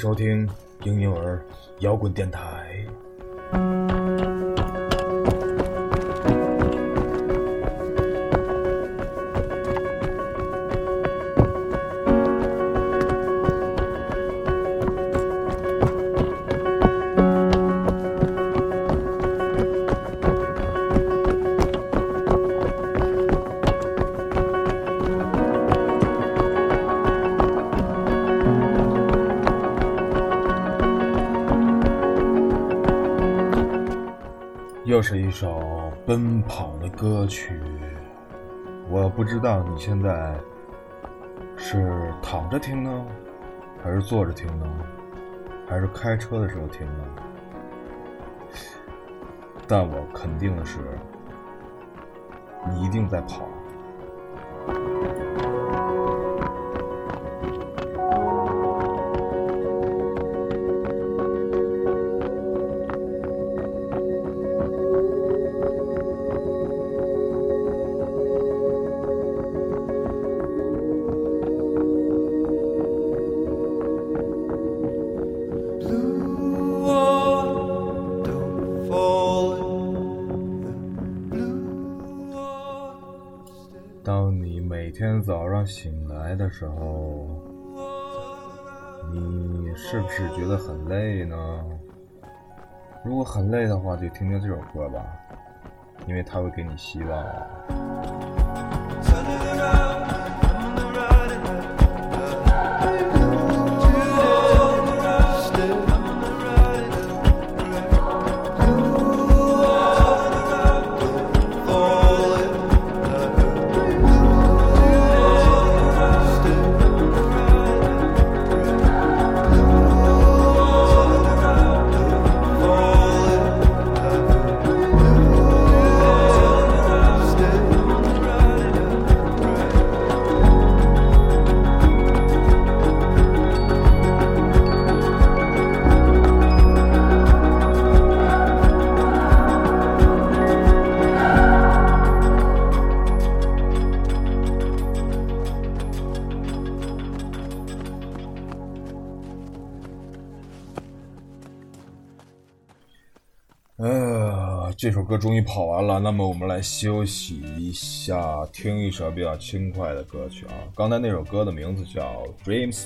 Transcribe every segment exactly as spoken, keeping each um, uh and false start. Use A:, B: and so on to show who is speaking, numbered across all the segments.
A: 收听婴幼儿摇滚电台。又是一首奔跑的歌曲，我不知道你现在是躺着听呢，还是坐着听呢，还是开车的时候听呢？但我肯定的是，你一定在跑。当你每天早上醒来的时候，你是不是觉得很累呢？如果很累的话，就听听这首歌吧，因为它会给你希望。呃，这首歌终于跑完了，那么我们来休息一下，听一首比较轻快的歌曲啊。刚才那首歌的名字叫 Dreams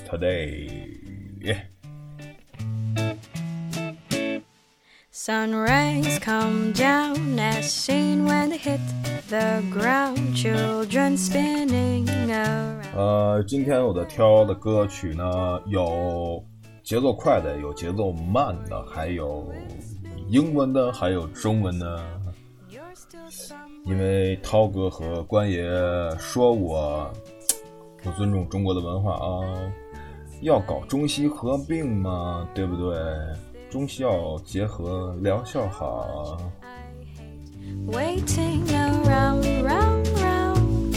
A: Today、yeah.
B: Sun rays come down as seen when they hit the ground, children spinning around.
A: 呃，今天我的挑的歌曲呢，有节奏快的，有节奏慢的，还有英文的，还有中文的。因为涛哥和关爷说我不尊重中国的文化啊，要搞中西合并嘛，对不对？中西要结合，疗效好。
B: Waiting around, round, round.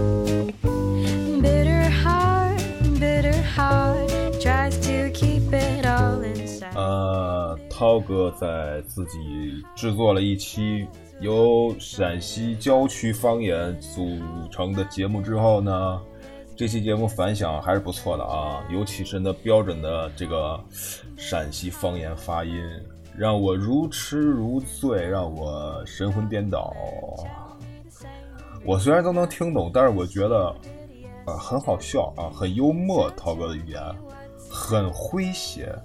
B: Bitter heart, bitter heart tries to keep it all inside.
A: 呃，涛哥在自己制作了一期由陕西郊区方言组成的节目之后呢，这期节目反响还是不错的啊，尤其是那标准的这个陕西方言发音，让我如痴如醉，让我神魂颠倒。我虽然都能听懂，但是我觉得呃很好笑啊，很幽默，涛哥的语言很诙谐。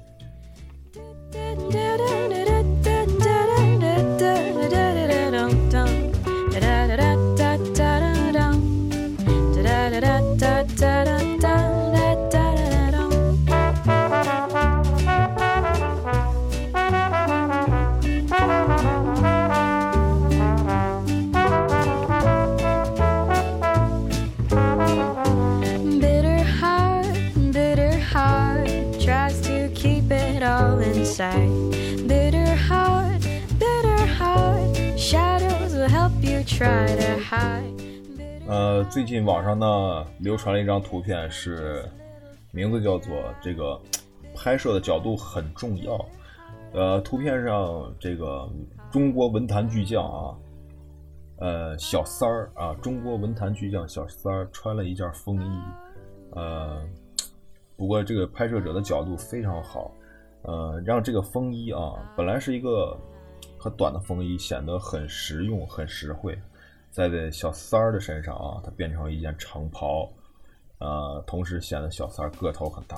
B: Bitter heart, bitter heart, shadows will help you try to hide.
A: 呃，最近网上呢流传了一张图片，是名字叫做这个拍摄的角度很重要。呃，图片上这个中国文坛巨匠啊，呃，小三儿啊，中国文坛巨匠小三儿穿了一件风衣，呃， 不过这个拍摄者的角度非常好，呃，让这个风衣啊，本来是一个很短的风衣，显得很实用、很实惠，在这小三儿的身上啊，它变成一件长袍，呃，同时显得小三儿个头很大。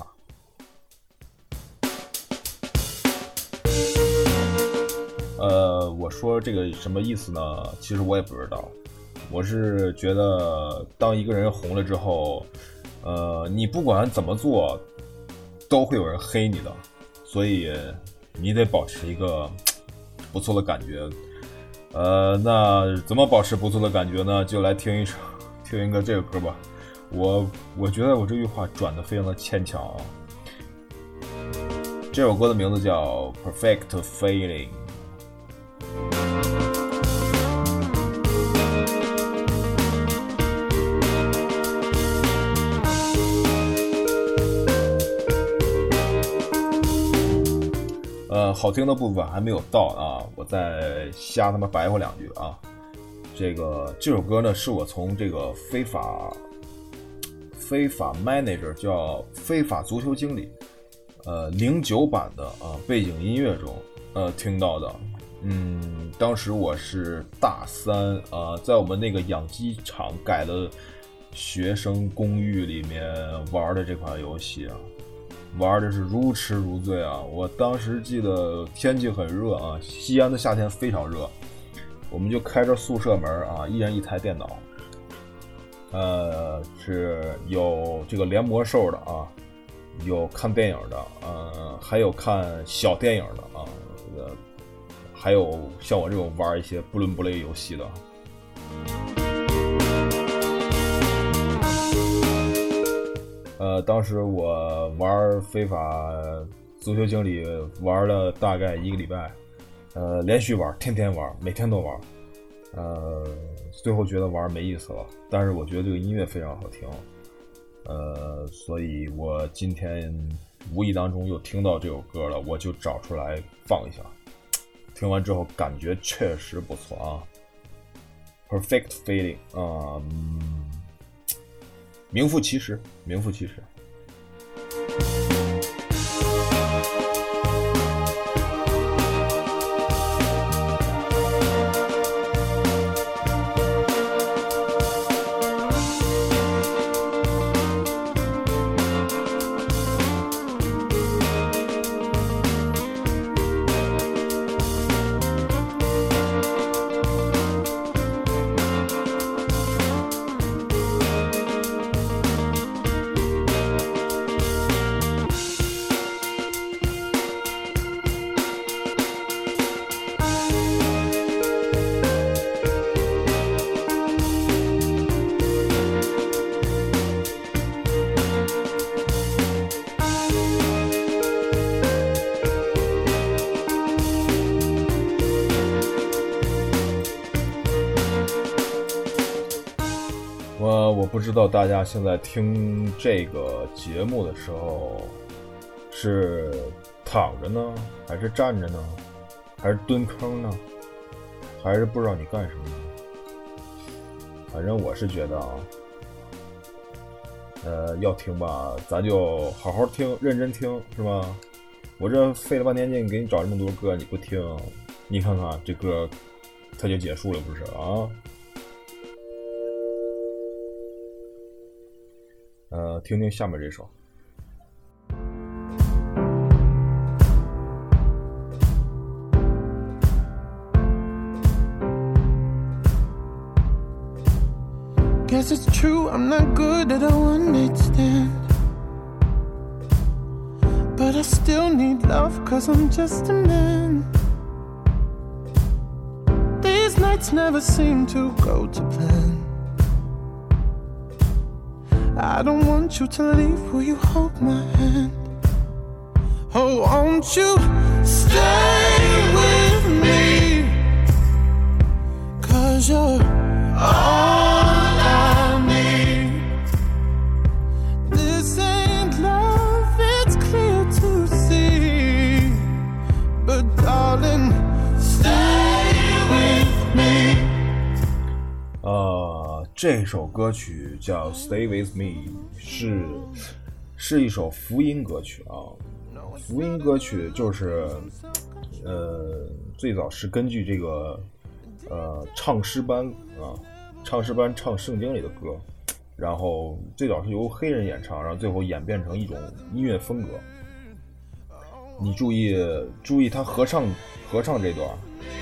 A: 呃，我说这个什么意思呢？其实我也不知道。我是觉得，当一个人红了之后，呃，你不管怎么做，都会有人黑你的，所以你得保持一个不错的感觉。呃，那怎么保持不错的感觉呢？就来听一首，听一个这个歌吧。我我觉得我这句话转得非常的牵强啊。这首歌的名字叫 Perfect Feeling。呃，好听的部分还没有到啊，我再瞎他妈白话两句啊。这个这首歌呢，是我从这个非法非法 manager 叫非法足球经理，呃，零九版的啊背景音乐中呃听到的。嗯，当时我是大三啊，在我们那个养鸡场改的学生公寓里面玩的这款游戏啊。玩的是如痴如醉啊！我当时记得天气很热啊，西安的夏天非常热，我们就开着宿舍门啊，一人一台电脑，呃，是有这个连魔兽的啊，有看电影的，呃，还有看小电影的啊，呃，还有像我这种玩一些不伦不类游戏的。呃，当时我玩非法足球经理玩了大概一个礼拜，呃，连续玩，天天玩，每天都玩，呃，最后觉得玩没意思了。但是我觉得这个音乐非常好听，呃，所以我今天无意当中又听到这首歌了，我就找出来放一下。听完之后感觉确实不错啊 ，Perfect Feeling 啊、嗯。名副其实，名副其实。我我不知道大家现在听这个节目的时候是躺着呢，还是站着呢，还是蹲坑呢，还是不知道你干什么呢？反正我是觉得啊，呃，要听吧，咱就好好听，认真听，是吧？我这费了半天劲给你找这么多歌，你不听，你看看这歌，它就结束了，不是啊？呃，听听下面这首。
C: Guess it's true, I'm not good at a one-night stand, but I still need love, cause I'm just a man. These nights never seem to go to plan. I don't want you to leave, will you hold my hand? Oh, won't you stay with me? Cause you're all I need. This ain't love, it's clear to see. But darling, stay with me.
A: 呃，这首歌曲叫 Stay With Me， 是是一首福音歌曲啊。福音歌曲就是呃最早是根据这个呃唱诗班啊唱诗班唱圣经里的歌，然后最早是由黑人演唱，然后最后演变成一种音乐风格。你注意注意他合唱合唱这段。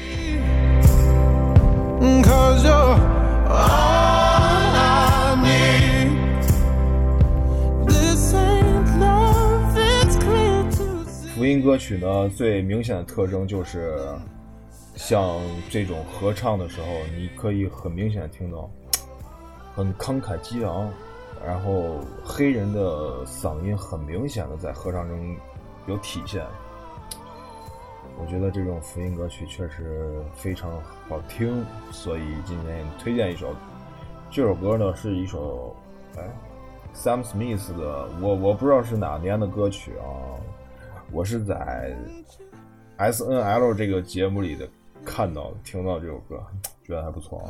A: 福音歌曲呢，最明显的特征就是像这种合唱的时候，你可以很明显的听到很慷慨激昂，然后黑人的嗓音很明显的在合唱中有体现。我觉得这种福音歌曲确实非常好听，所以今天推荐一首。这首歌呢是一首哎 Sam Smith 的，我我不知道是哪年的歌曲啊，我是在 S N L 这个节目里的看到听到这首歌，觉得还不错啊。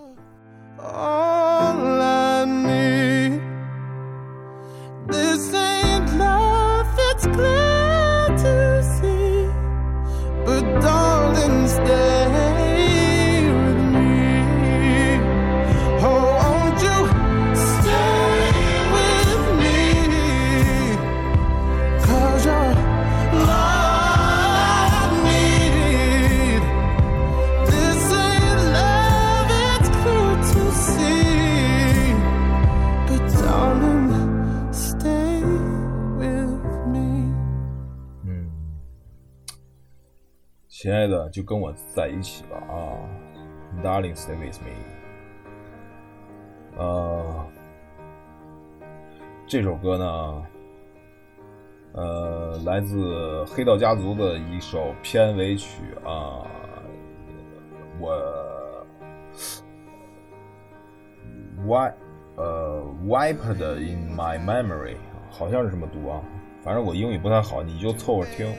C: All I need, this ain't love, it's clear to see, but darling, stay with me. Oh, won't you stay with me? 'Cause you're all I need. This ain't love, it's clear to see, but darling, stay with me.
A: 嗯，亲爱的，就跟我在一起吧啊 ，Darling, stay with me。呃，这首歌呢，呃，来自黑道家族的一首片尾曲啊，我 wipe 呃 wiped in my memory， 好像是这么读啊，反正我英语不太好，你就凑合听。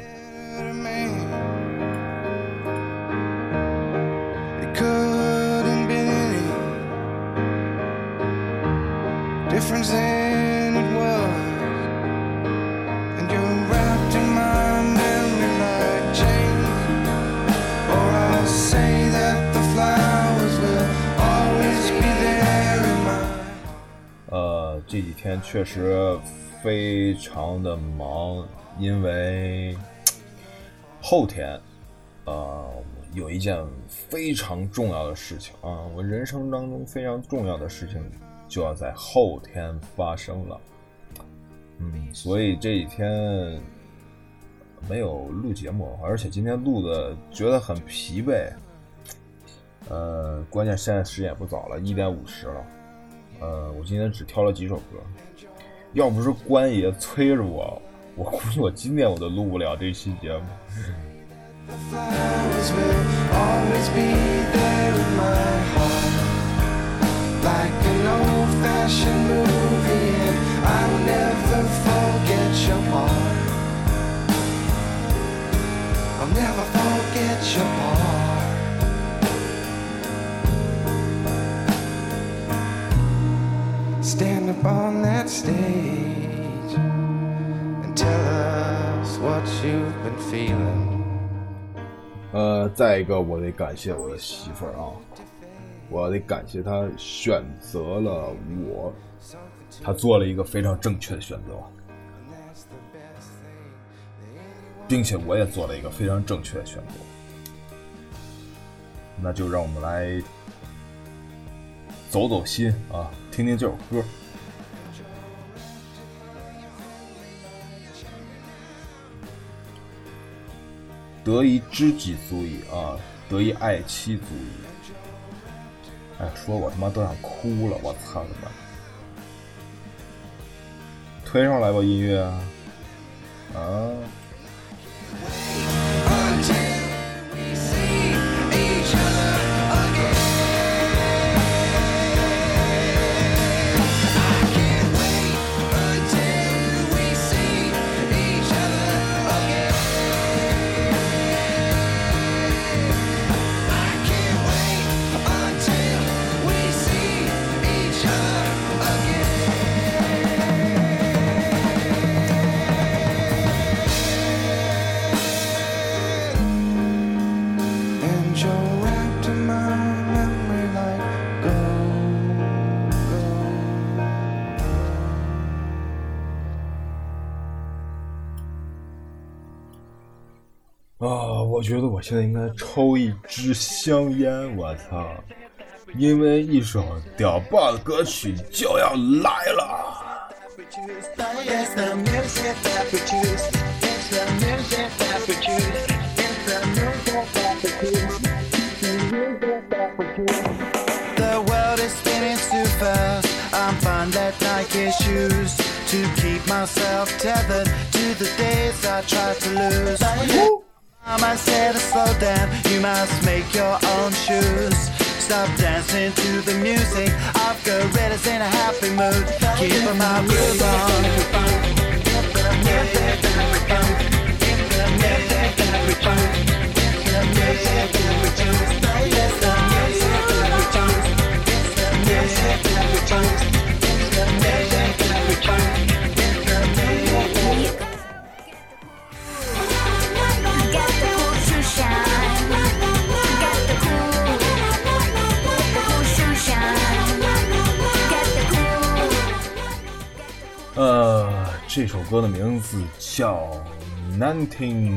C: Difference than it was, and you're wrapped in my memory like chains. Or I'll say that the flowers will always be there in my.
A: 呃，这几天确实非常的忙，因为后天，呃，有一件非常重要的事情啊，我人生当中非常重要的事情。就要在后天发生了，嗯，所以这几天没有录节目，而且今天录的觉得很疲惫，呃，关键现在时间也不早了，一点五十了，呃，我今天只挑了几首歌，要不是关爷催着我，我估计我今天我都录不了这期节目。
C: Like an old-fashioned movie, and I'll never forget your part. I'll never forget your part. Stand up on that stage and tell us what you've been feeling.
A: 呃，再一个，我得感谢我的媳妇儿啊。我得感谢他选择了我，他做了一个非常正确的选择，并且我也做了一个非常正确的选择。那就让我们来走走心啊，听听这首歌。得一知己足矣啊，得一爱妻足矣。哎，说我他妈都想哭了，我操他妈！推上来吧，音乐啊！啊我觉得我现在应该抽一支香烟，我操！因为一首屌爆的歌曲就要来了。
C: The world is spinning too fast. I'm fine that Nike shoes to keep myself tethered to the days I tried to lose. I said to slow down, you must make your own shoes. Stop dancing to the music of gorillas in a happy mood. Keep my groove on.
A: Uh, 呃，这首歌的名字叫 Nineteen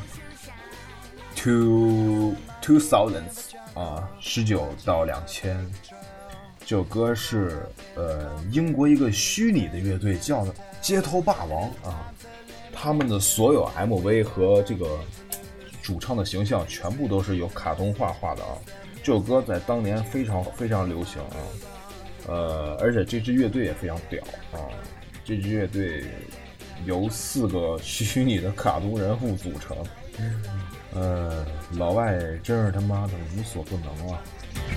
A: to Two Thousands 啊，十九到两千。这首歌是呃英国一个虚拟的乐队叫街头霸王啊，他们的所有 M V 和这个主唱的形象全部都是由卡通画画的啊。这首歌在当年非常非常流行啊，呃，而且这支乐队也非常屌啊。这支乐队由四个虚拟的卡通人物组成，呃，老外真是他妈的无所不能啊！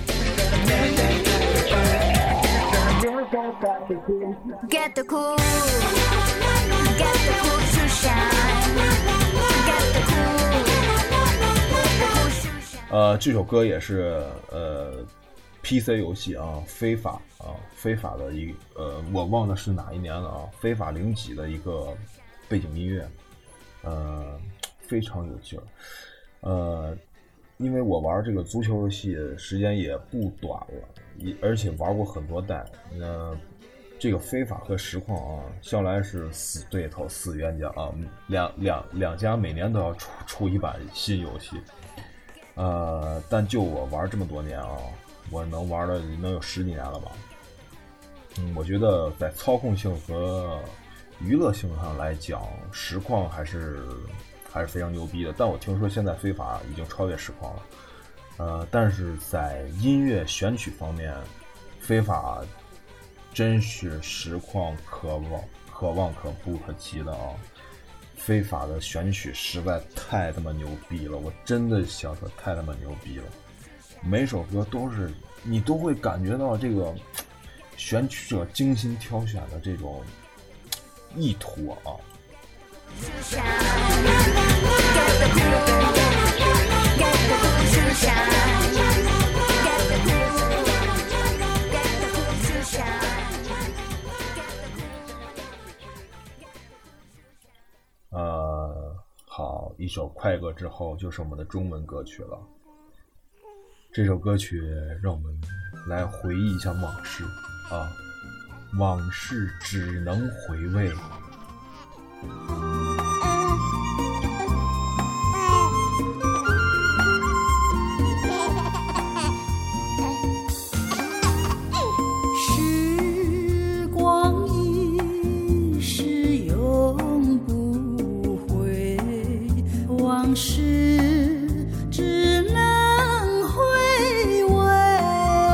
D: Get the cool, get the cool to shine, get the cool, the cool to shine.
A: 呃，这首歌也是呃 P C 游戏啊，非法啊，非法的一呃，我忘了是哪一年了啊，非法零几的一个背景音乐，呃，非常有劲儿，呃。因为我玩这个足球游戏时间也不短了，也而且玩过很多代。那这个非法和实况啊，向来是死对头、死冤家啊，两两两家每年都要出出一版新游戏。呃，但就我玩这么多年啊，我能玩了能有十几年了吧。嗯，我觉得在操控性和娱乐性上来讲，实况还是。还是非常牛逼的，但我听说现在非法已经超越实况了，呃，但是在音乐选曲方面，非法真是实况可望可望可不可及的啊！非法的选曲实在太他妈牛逼了，我真的想说太他妈牛逼了，每首歌都是你都会感觉到这个选曲者精心挑选的这种意图啊。呃，好，一首快歌之后就是我们的中文歌曲了。这首歌曲让我们来回忆一下往事啊，往事只能回味。
E: 时光一逝永不回，往事只能回味。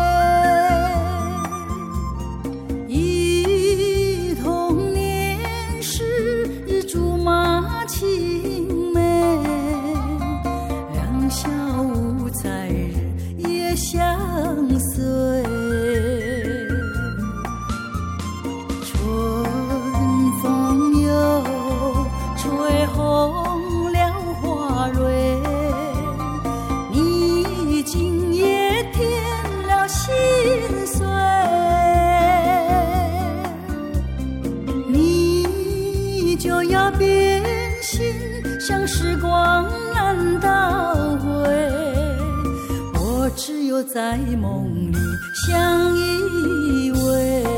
E: 忆童年时竹马青梅，两小无猜日夜相随。春风又吹红了花蕊，你今夜添了心碎，你就要变心，像时光难倒回，我只有在梦里相依偎。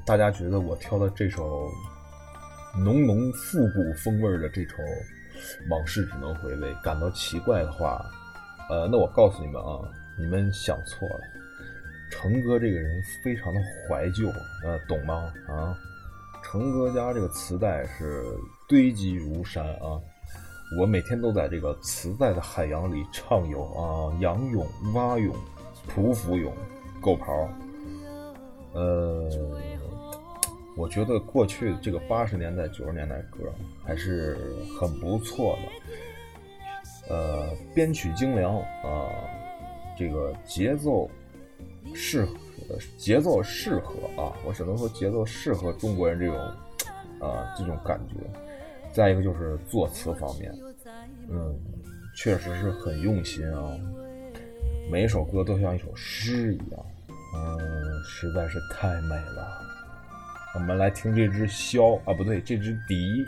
A: 大家觉得我挑的这首浓浓复古风味的这首往事只能回味感到奇怪的话，呃，那我告诉你们啊，你们想错了。成哥这个人非常的怀旧，呃，懂吗？啊，成哥家这个磁带是堆积如山啊，我每天都在这个磁带的海洋里畅游啊，仰泳、蛙泳、匍匐泳、够刨。呃，我觉得过去这个八十年代、九十年代歌还是很不错的，呃，编曲精良啊，这个节奏适合，节奏适合啊，我只能说节奏适合中国人这种啊这种感觉。再一个就是作词方面，嗯，确实是很用心啊，每一首歌都像一首诗一样，嗯，实在是太美了。我们来听这只箫啊，不对，这只笛。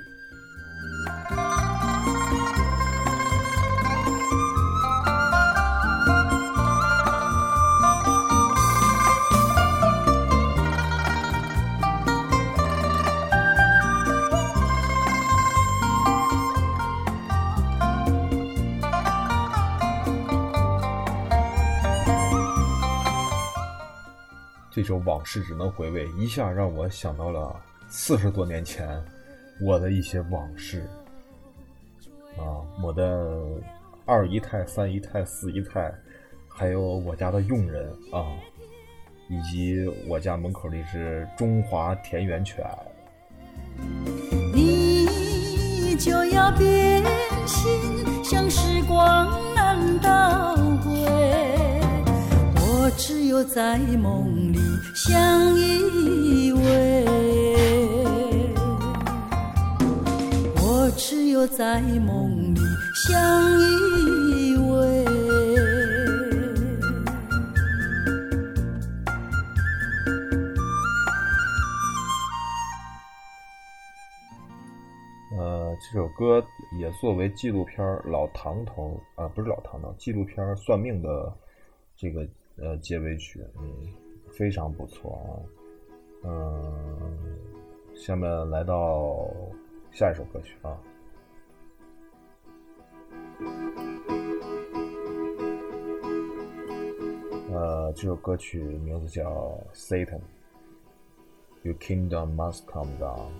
A: 这首往事只能回味，一下让我想到了四十多年前我的一些往事啊，我的二姨太、三姨太、四姨太，还有我家的佣人啊，以及我家门口的一只中华田园犬。
E: 你就要变心，像时光难倒回，我只有在梦里相依偎，我只有在梦里相依偎。
A: 呃，这首歌也作为纪录片《老唐头》啊，不是老唐头，纪录片《算命》的这个呃结尾曲，嗯，非常不错啊。嗯，下面来到下一首歌曲啊。呃，这首歌曲名字叫 Satan Your Kingdom Must Come Down。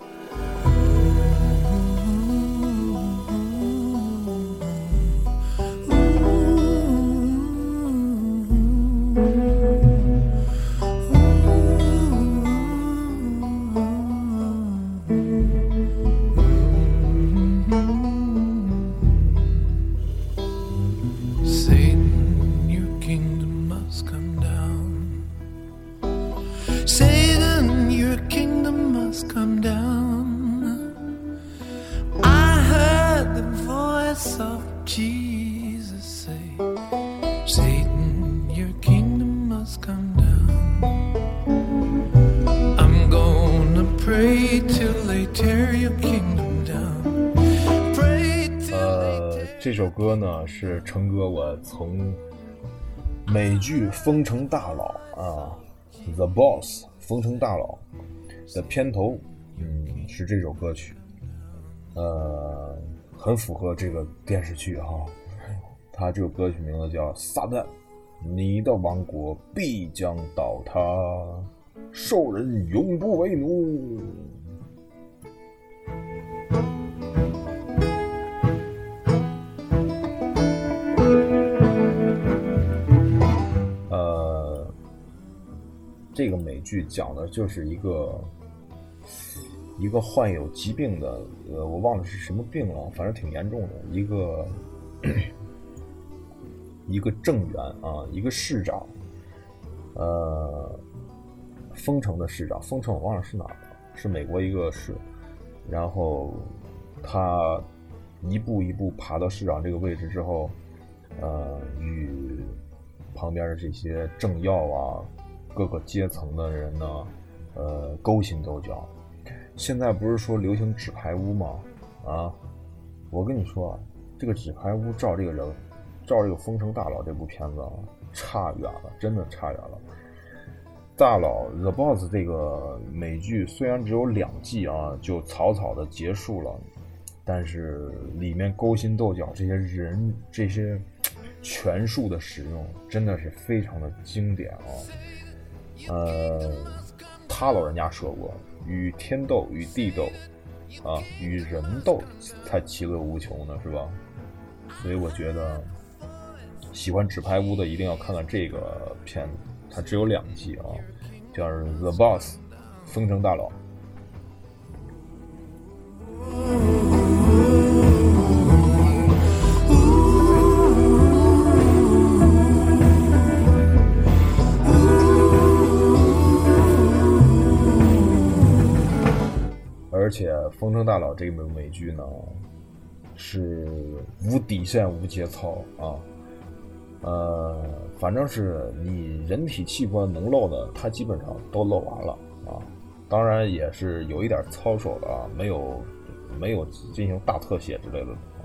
A: 这首歌呢是成哥我从美剧《风城大佬》啊，《The Boss》风城大佬的片头，嗯，是这首歌曲，呃，很符合这个电视剧哈。它这首歌曲名字叫《撒旦，你的王国必将倒塌，兽人永不为奴》。这个美剧讲的就是一个一个患有疾病的，呃，我忘了是什么病了，反正挺严重的，一个一个政员啊，一个市长，呃，丰城的市长，丰城我忘了是哪儿了，是美国一个市，然后他一步一步爬到市长这个位置之后，呃，与旁边的这些政要啊。各个阶层的人呢，呃，勾心斗角。现在不是说流行纸牌屋吗？啊，我跟你说，这个纸牌屋照这个人，照这个《风城大佬》这部片子啊，差远了，真的差远了。 大佬 The Boss 这个美剧虽然只有两季啊，就草草的结束了，但是里面勾心斗角这些人这些权术的使用真的是非常的经典啊。呃，他老人家说过，与天斗与地斗啊，与人斗才其乐无穷呢，是吧？所以我觉得喜欢纸牌屋的一定要看看这个片子，它只有两季啊，叫 The Boss 风城大佬。而且风城大佬这部美剧呢是无底线无节操啊，呃，反正是你人体器官能露的，它基本上都露完了啊。当然也是有一点操守的啊，没有没有进行大特写之类的啊。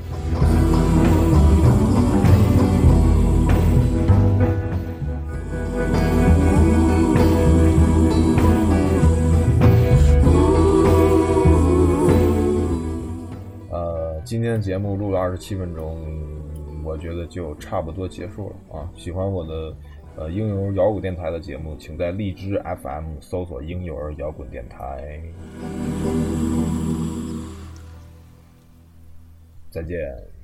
A: 呃，今天的节目录了二十七分钟。我觉得就差不多结束了啊！喜欢我的呃婴幼儿摇滚电台的节目，请在荔枝 F M 搜索婴幼儿摇滚电台。再见。